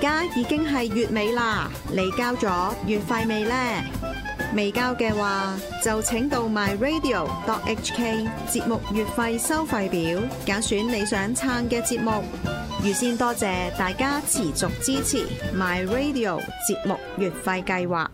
家已經係月尾啦，你交咗月費未呢？未交嘅話，就請到 myradio.hk 節目月費收費表，揀選你想撐嘅節目。預先多謝大家持續支持 myradio 節目月費計劃。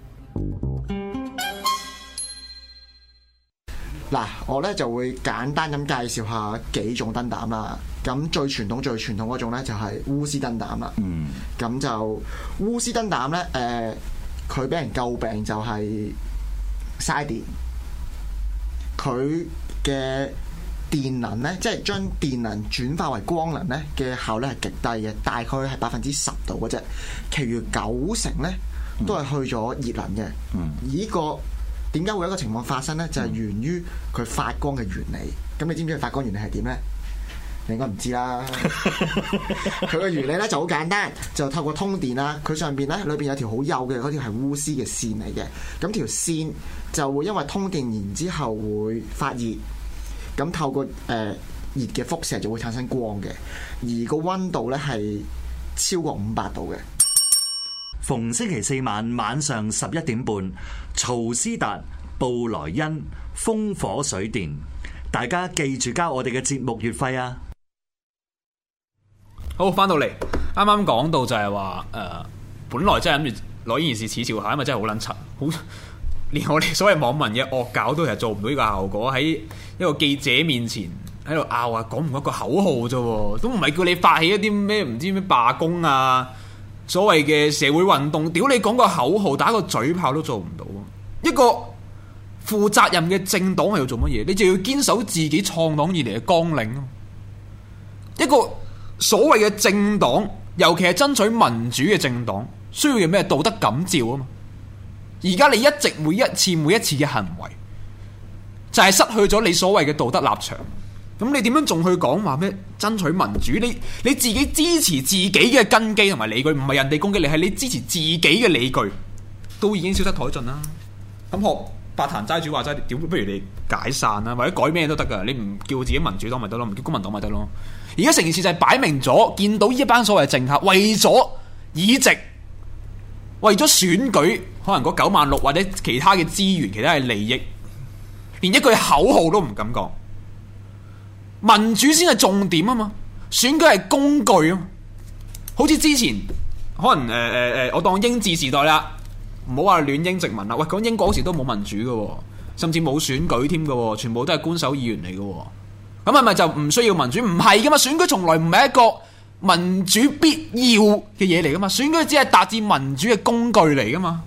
嗱，我咧就會簡單咁介紹下幾種燈膽啦。咁最傳統嗰種咧就係鎢絲燈膽啦。咁就鎢絲燈膽咧，佢俾人詬病就係嘥電。佢嘅電能咧，即係將電能轉化為光能咧嘅效率係極低嘅，大概係10%度嘅啫。其餘90%咧都係去咗熱能嘅。呢個點解會有一個情況發生呢？就係源於佢發光嘅原理。咁你知唔知佢發光原理係點呢？你應該唔知啦。佢嘅原理咧就好簡單，就透過通電啦。佢上邊咧裏邊有條好幼嘅嗰條係鎢絲嘅線嚟嘅。咁條線就會因為通電然之後會發熱，咁透過熱嘅輻射就會產生光嘅。而個溫度咧係超過500度嘅。 逢星期四晚上11點半，曹斯達、布萊恩、風火水電，大家記住交我哋嘅節目月費啊！ 好，翻到嚟，啱啱講到就係話本來真係諗住攞呢件事恥笑下，因為真係好撚柒，好連我哋所謂網民嘅惡搞都係做唔到呢個效果，喺一個記者面前喺度拗啊，講唔過一個口號啫，都唔係叫你發起一啲咩唔知咩罷工啊，所謂嘅社會運動，屌你講個口號打個嘴炮都做唔到。一個負責任嘅政黨係要做乜嘢？你就要堅守自己創黨以嚟嘅綱領啊！一個所謂嘅政黨，尤其係爭取民主嘅政黨，需要嘅咩道德感召啊嘛！而家你一直每一次嘅行為，就係失去咗你所謂嘅道德立場。咁你點樣仲去講話咩爭取民主？你自己支持自己嘅根基同埋理據，唔係人哋攻擊你，係你支持自己嘅理據，都已經消失殆盡啦。咁學八壇齋主話齋，屌不如你解散啦，或者改咩都得噶。你唔叫自己民主黨咪得咯，唔叫公民黨咪得咯。而家成件事就係擺明咗，見到呢一班所謂政客為咗議席，為咗選舉，可能嗰96000或者其他嘅資源、其他嘅利益，連一句口號都唔敢講。民主先係重點啊嘛，選舉係工具啊嘛。好似之前可能我當英治時代啦，唔好話戀英殖民啦。喂，講英國嗰時都冇民主嘅，甚至冇選舉添嘅，全部都係官守議員嚟嘅。咁係咪就唔需要民主？唔係噶嘛，選舉從來唔係一個民主必要嘅嘢嚟噶嘛，選舉只係達至民主嘅工具嚟噶嘛。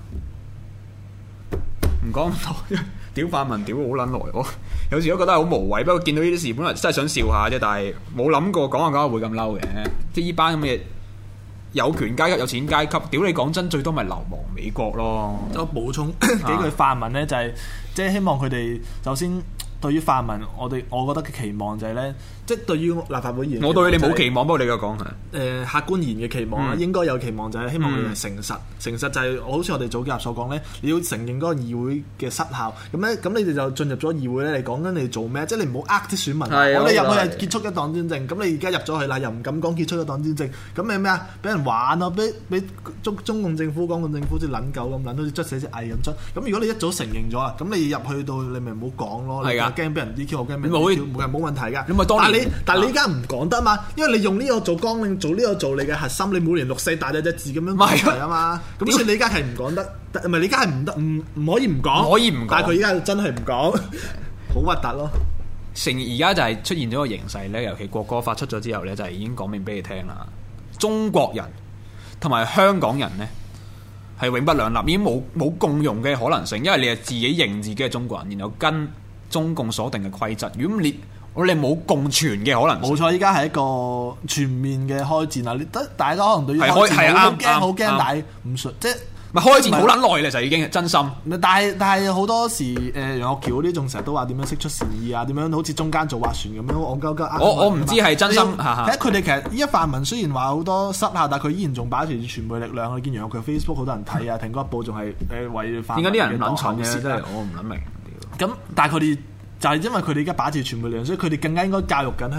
唔講咁多，屌泛民屌好撚耐，我有時都覺得好無謂。不過見到呢啲事，本來真係想笑下啫，但係冇諗過講下會咁嬲嘅。即係呢班咁嘅有權階級、有錢階級，屌你講真，最多咪流亡美國咯。 我補充幾句泛民呢，就係即係希望佢哋首先對於泛民，我覺得嘅期望就係呢，即係對於立法會議員， 我對你冇期望，不過你嘅講係客觀言嘅期望啦，應該有期望就係希望佢哋係誠實。誠實就係好似我哋早幾日所講呢，你要承認嗰個議會嘅失效。咁你哋就進入咗議會呢，你講緊你做咩？即係你唔好呃啲選民。我哋入去係結束一黨專政，咁你而家入咗去啦，又唔敢講結束一黨專政，咁你咩啊？俾人玩啊！俾中共政府、港共政府好似撚狗咁撚，好似捽死隻蟻咁捽。咁如果你一早承認咗啊，咁你入去到你咪唔好講咯。係㗎。驚俾人 DQ， 我驚俾人 DQ， 冇問題㗎。但係你而家唔講得嘛，因為你用呢個做綱領，做呢個做你嘅核心，你每年6、4大隻字咁樣講出嚟啊嘛。咁所以李家係唔講得，唔係李家係唔得，唔可以唔講。可以唔講，但係佢而家真係唔講，好核突咯。 而家就係出現咗個形勢咧，尤其國歌法出咗之後咧，就係已經講明俾你聽啦。中國人同埋香港人咧係永不兩立，已經冇共融嘅可能性，因為你係自己認自己係中國人，然後跟中共所定嘅規則。如果我哋冇共存嘅可能性。冇錯，依家係一個全面嘅開戰啦！大家可能對於開戰好驚，但係唔信即係咪開戰好撚耐咧？就已經真心。但係好多時楊岳橋嗰啲仲成日都話點樣釋出善意啊？點樣好似中間做划船咁樣戇鳩鳩。我唔知係真心。睇佢哋其實依家泛民雖然話好多失效，但係佢依然仲把持住全部力量。你見楊岳橋 Facebook 好多人睇啊，蘋果日報仲係為泛民嘅黨。點解啲人撚蠢嘅？真係我唔諗明。咁但係佢哋就係因為佢哋而家把持全部力量，所以佢哋更加應該教育緊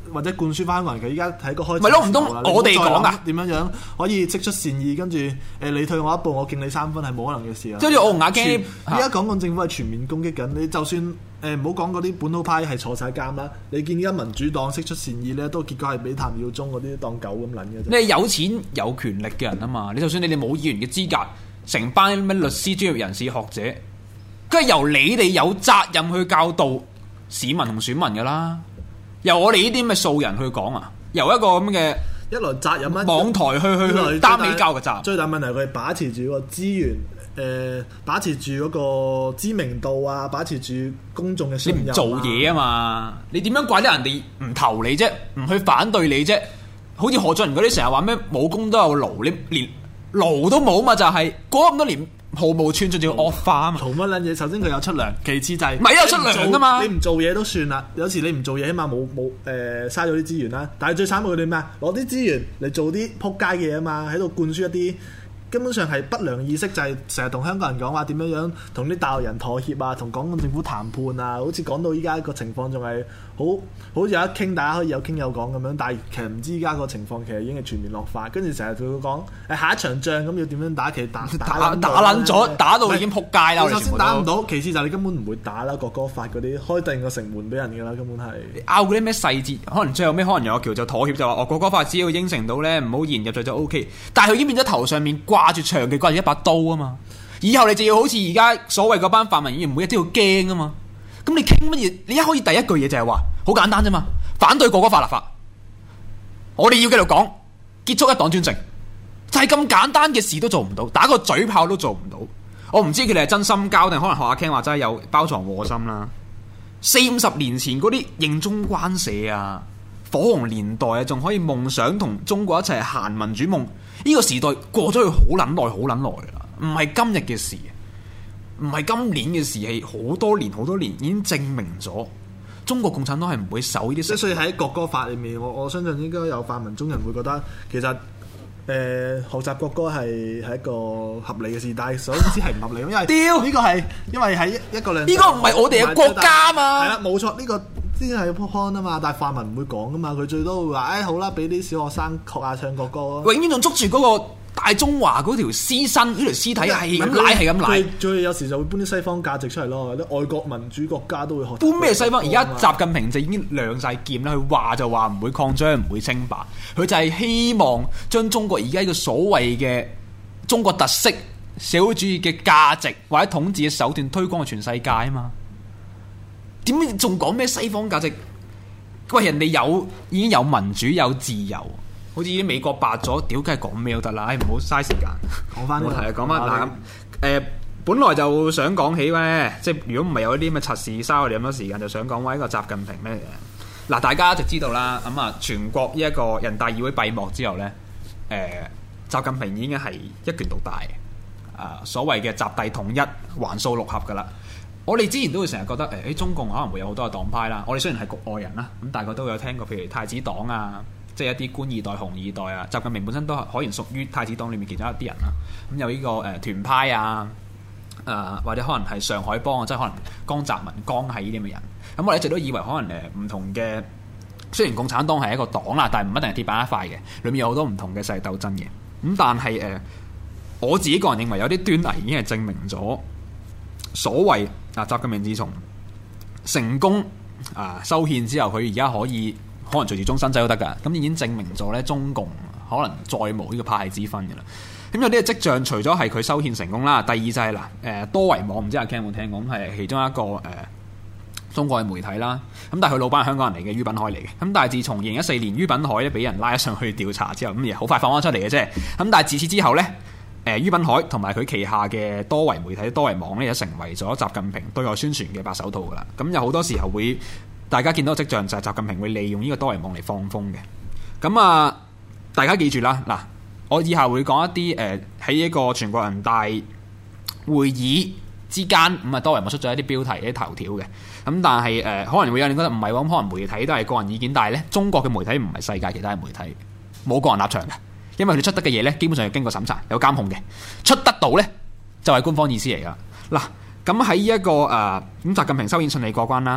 或者灌輸翻香港人，佢依家喺個開始咪咯，唔通我哋講啊？ 點樣可以釋出善意，跟住你退我一步，我敬你3分，係冇可能嘅事啊！ 即係好似我同阿 Ken， 依家港共政府係全面攻擊緊你，就算唔好講嗰啲本土派係坐晒監啦，你見依家民主黨釋出善意咧，都結果係俾譚耀宗嗰啲當狗咁撚嘅啫。 你係有錢有權力嘅人啊嘛，你就算你哋冇議員嘅資格，成班咩律師、專業人士、學者，跟住由你哋有責任去教導市民同選民噶啦，由我哋呢啲咁嘅素人去講啊，由一個咁嘅一來責任網台去擔起教嘅責任。 最大問題佢係把持住個資源，把持住嗰個知名度啊，把持住公眾嘅信任。 你唔做嘢啊嘛，你點樣怪得人哋唔投你啫？唔去反對你啫？好似何俊仁嗰啲成日話咩冇功都有勞，你連勞都冇嘛？就係過咁多年。毫無寸進，仲要惡化啊嘛！ 嘈乜撚嘢？首先佢有出糧，其次就係咪有出糧噶嘛？ 你唔做嘢都算啦，有時你唔做嘢，起碼冇嘥咗啲資源啦。但係最慘係佢哋咩啊？攞啲資源嚟做啲撲街嘅嘢啊嘛，喺度灌輸一啲根本上係不良意識，就係成日同香港人講話點樣同啲大陸人妥協啊，同港共政府談判啊，好似講到依家個情況仲係好似有得傾，大家可以有傾有講咁樣，但係其實唔知依家個情況其實已經係全面惡化，跟住成日佢會講下一場仗咁要點樣打，其實打撚咗，打到已經撲街啦！ 首先打唔到，其次就係你根本唔會打啦，國歌法嗰啲開定個城門俾人㗎啦，根本係拗嗰啲咩細節，可能最後尾可能有條就妥協就話國歌法只要應承到咧，唔好延入罪就 OK， 但係佢已經變咗頭上面掛住長期掛住一把刀啊嘛，以後你就要好似而家所謂嗰班泛民議員每日都要驚啊嘛。咁你傾乜嘢？你一可以第一句嘢就係話好簡單啫嘛，反對國歌法立法。我哋要繼續講結束一黨專政，就係咁簡單嘅事都做唔到，打個嘴炮都做唔到。我唔知佢哋係真心交定可能學阿 Ken 話真係有包藏禍心啦。40-50年前嗰啲認中關社啊、火紅年代啊，仲可以夢想同中國一齊行民主夢，呢個時代過咗去好撚耐好撚耐啦，唔係今日嘅事。唔係今年嘅事，係好多年已經證明咗中國共產黨係唔會守呢啲。 所以喺國歌法裏面，我相信應該有泛民中人會覺得其實學習國歌係一個合理嘅事，但係所知係唔合理，因為呢個係因為喺一個兩呢個唔係我哋嘅國家嘛。 係啦，冇錯，呢個先係 point 啊嘛。但係泛民唔會講噶嘛，佢最多會話好啦，俾啲小學生學下唱國歌咯。 永遠仲捉住嗰個大中華嗰條屍身，呢條屍體係咁舐，係咁舐。 最有時就會搬啲西方價值出嚟咯，啲外國民主國家都會學。 搬咩西方？而家習近平就已經亮晒劍啦，佢話就話唔會擴張，唔會稱霸，佢就係希望將中國而家呢個所謂嘅中國特色社會主義嘅價值或者統治嘅手段推廣去全世界啊嘛。點解仲講咩西方價值？喂，人哋已經有民主有自由。好似啲美國白咗，屌梗係講咩都得啦，唔好嘥時間。講翻冇題啊，講翻嗱咁本來就想講起咧，即係如果唔係有啲咁嘅測試嘥我哋咁多時間，就想講話一個習近平咩嘅嗱，大家一直知道啦。咁啊，全國呢一個人大議會閉幕之後咧，習近平已經係一拳獨大所謂嘅習帝統一橫掃六合噶啦。我哋之前都會成日覺得中共可能會有好多嘅黨派啦。我哋雖然係局外人啦，咁大家都有聽過，譬如太子黨啊。即係一啲官二代、紅二代啊，習近平本身都可能屬於太子黨裏面其中一啲人啦。咁有呢個團派啊，或者可能係上海幫啊，即係可能江澤民、江係呢啲咁嘅人。咁我哋一直都以為可能唔同嘅，雖然共產黨係一個黨啦，但係唔一定係鐵板一塊嘅，裏面有好多唔同嘅勢力鬥爭嘅。咁但係我自己個人認為有啲端倪已經係證明咗所謂習近平自從成功修憲之後，佢而家可能隨時終身制都得㗎，咁已經證明咗咧中共可能再無呢個派系之分嘅啦。咁有啲嘅跡象，除咗係佢修憲成功啦，第二就係多維網，唔知阿 Ken 有冇聽過？咁係其中一個中國嘅媒體啦。咁但係佢老闆係香港人嚟嘅，于品海嚟嘅。咁但係自從2014年于品海咧俾人拉上去調查之後，咁亦好快放翻出嚟嘅啫。咁但係自此之後咧，于品海同埋佢旗下嘅多維媒體多維網咧，就成為咗習近平對外宣傳嘅白手套㗎啦。咁有好多時候會。大家見到嘅跡象就係習近平會利用呢個多維網嚟放風嘅。咁大家記住啦，嗱，我以下會講一啲喺一個全國人大會議之間，咁多維網出咗一啲標題、一啲頭條嘅。咁但係可能會有人覺得唔係喎，咁可能媒體都係個人意見，但係咧中國嘅媒體唔係世界其他嘅媒體，冇個人立場嘅，因為佢哋出得嘅嘢咧基本上係經過審查、有監控嘅，出得到咧就係官方意思嚟㗎。嗱，咁喺一個咁習近平修憲順利過關啦。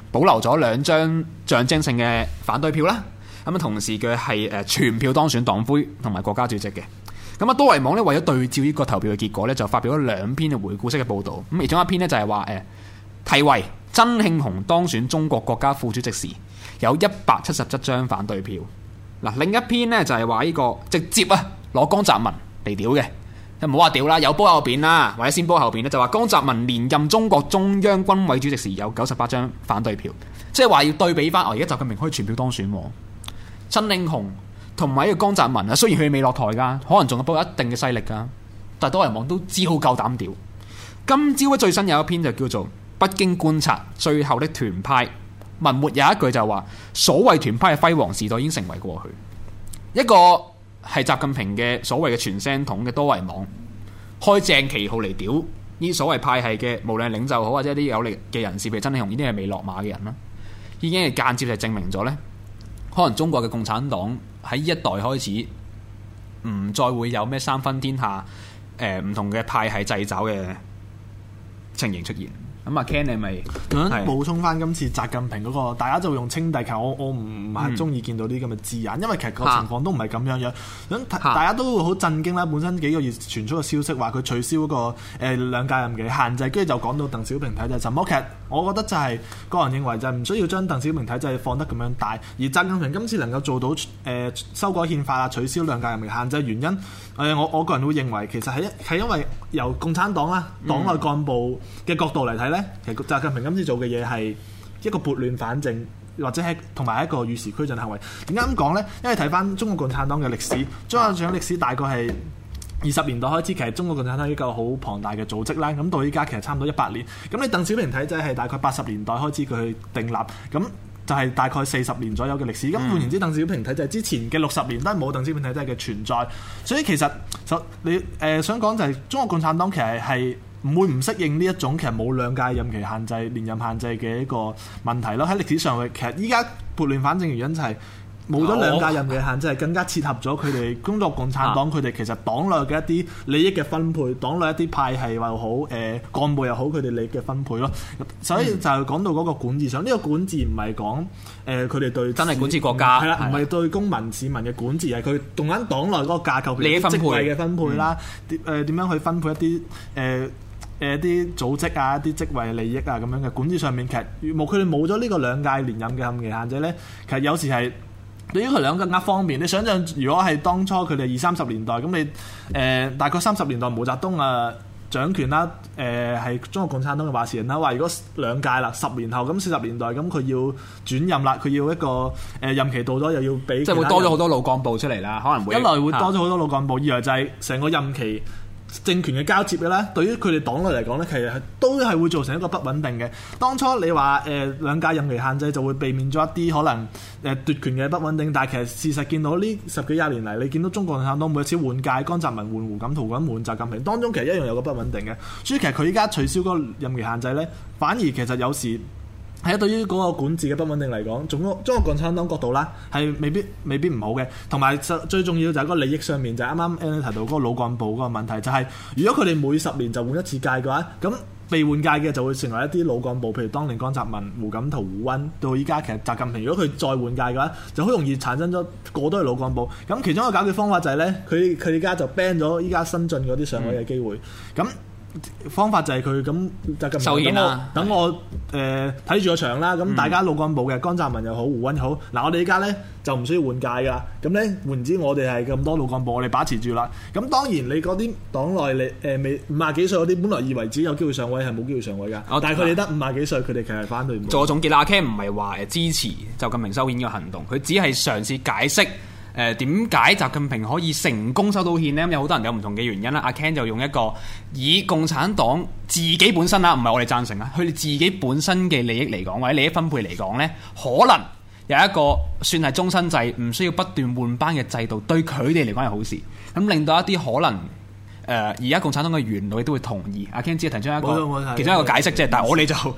保留咗2張象徵性嘅反對票啦。咁啊，同時佢係全票當選黨魁同埋國家主席嘅。咁啊，多維網咧為咗對照呢個投票嘅結果咧，就發表咗2篇嘅回顧式嘅報導。咁其中一篇呢，就係話題為曾慶紅當選中國國家副主席時有177張反對票。嗱，另一篇呢，就係話呢個直接攞江澤民嚟屌嘅，唔好話屌啦，有煲有扁啦，或者先煲後扁咧，就話江澤民連任中國中央軍委主席時有98張反對票，即係話要對比翻，而家習近平可以全票當選，曾慶紅同埋呢個江澤民啊，雖然佢未落台噶，可能仲有一定嘅勢力噶，但係多人網都只好夠膽屌。今朝最新有一篇就叫做《北京觀察最後的團派》，文末有一句就話：所謂團派嘅輝煌時代已經成為過去。一個係習近平嘅所謂嘅傳聲筒嘅多維網，開正旗號嚟屌呢所謂派系嘅，無論領袖好或者啲有力嘅人士，譬如曾慶紅呢啲係未落馬嘅人啦，已經係間接就證明咗呢，可能中國嘅共產黨喺呢一代開始唔再會有咩三分天下唔同嘅派系掣肘嘅情形出現。咁啊 Ken 你咪補充翻今次習近平嗰個，大家就用稱帝，其實我唔係中意見到啲咁嘅字眼，因為其實個情況都唔係咁樣樣。咁大家都會好震驚啦。本身幾個月傳出個消息話佢取消嗰個2屆任期限制，跟住就講到鄧小平體制什麼。其實我覺得就係個人認為就係唔需要將鄧小平體制放得咁樣大。而習近平今次能夠做到修改憲法啊、取消2屆任期限制，原因我個人會認為其實係因為由共產黨啦、黨內幹部嘅角度嚟睇呢，其實習近平今次做嘅嘢係一個撥亂反正，或者係同埋一個與時俱進行為。點解咁講呢？因為睇翻中國共產黨嘅歷史，中國共產黨歷史大概係20年代開始，其實中國共產黨一個好龐大嘅組織啦。咁到依家其實差唔多100年。咁你鄧小平體制係大概80年代開始佢去訂立，咁就係大概40年左右嘅歷史。咁換言之，鄧小平體制之前嘅60年都係冇鄧小平體制嘅存在。所以其實你想講就係中國共產黨其實係唔會唔適應呢一種其實冇2屆任期限制、連任限制嘅一個問題咯。喺歷史上，其實依家撥亂反正原因就係冇咗2屆任期限制，係更加切合咗佢哋中國共產黨佢哋其實黨內嘅一啲利益嘅分配，黨內一啲派系又好，幹部又好，佢哋利益嘅分配咯。所以就係講到嗰個管治上，呢個管治唔係講佢哋對真係管治國家， 係啦，唔係對公民市民嘅管治，係佢動緊黨內嗰個架構， 利益分配、 職位嘅分配啦，點樣去分配一啲啲組織啊、一啲職位利益啊咁樣嘅管治上面，其實佢哋冇咗呢個2屆連任嘅任期限制咧，其實有時係對於佢兩個更加方便。你想象如果係當初佢哋20-30年代，咁你大概30年代毛澤東掌權啦，係中國共產黨嘅話事人啦，話如果2屆啦，10年後咁40年代咁佢要轉任啦，佢要一個任期到咗又要俾， 即係會多咗好多老幹部出嚟啦，可能會一來會多咗好多老幹部，二來就係成個任期政權嘅交接嘅咧，對於佢哋黨內嚟講咧，其實都係會造成一個不穩定嘅。當初你話2屆任期限制就會避免咗一啲可能奪權嘅不穩定，但係其實事實見到呢10幾20年嚟，你見到中國共產黨每一次換屆，江澤民換胡錦濤咁換習近平，當中其實一樣有個不穩定嘅。所以其實佢依家取消嗰個任期限制咧，反而其實有時係對於嗰個管治嘅不穩定嚟講，中國共產黨角度啦，係未必唔好嘅。同埋最重要就係個利益上面，就係啱啱 Alan 提到嗰個老幹部嗰個問題，就係如果佢哋每10年就換一次屆嘅話，咁被換屆嘅就會成為一啲老幹部，譬如當年江澤民、胡錦濤、胡溫，到依家其實習近平，如果佢再換屆嘅話，就好容易產生咗過多嘅老幹部。咁其中一個解決方法就係咧，佢依家就 ban 咗依家新進嗰啲上位嘅機會。咁方法就係佢咁習近平等我睇住個場啦。咁大家老幹部嘅江澤民又好，胡溫又好，嗱我哋依家咧就唔需要換屆㗎。咁咧換言之，我哋係咁多老幹部，我哋把持住啦。咁當然你嗰啲黨內未50幾歲嗰啲，本來以為自己有機會上位，係冇機會上位㗎。但係佢哋得50幾歲，佢哋其實係反對唔到。 做總結啦，阿 Ken 唔係話支持習近平修憲嘅行動，佢只係嘗試解釋點解習近平可以成功修到憲呢？有好多人有唔同嘅原因啦。阿 Ken 就用一個以共產黨自己本身啦，唔係我哋贊成啦，佢哋自己本身嘅利益嚟講，或者利益分配嚟講呢，可能有一個算係終身制，唔需要不斷換班嘅制度，對佢哋嚟講係好事。咁令到一啲可能而家共產黨嘅元老亦都會同意。阿 Ken 只係提出一個其中一個解釋啫，但係我哋就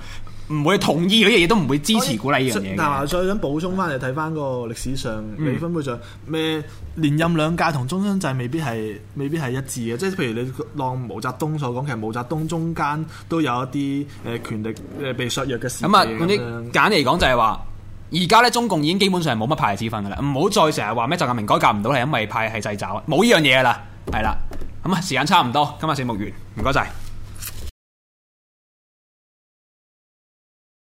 唔會同意嗰啲嘢，都唔會支持鼓勵呢樣嘢嘅。 但係再想補充翻，你睇翻個歷史上美分會上咩連任兩屆同終身制未必係一致嘅，即係譬如你當毛澤東所講，其實毛澤東中間都有一啲權力被削弱嘅時期。 咁啊，總之簡單嚟講就係話，而家咧中共已經基本上係冇乜派系之分噶啦，唔好再成日話咩習近平改革唔到係因為派系掣肘，冇呢樣嘢噶啦，係啦。咁啊，時間差唔多，今日節目完，唔該晒。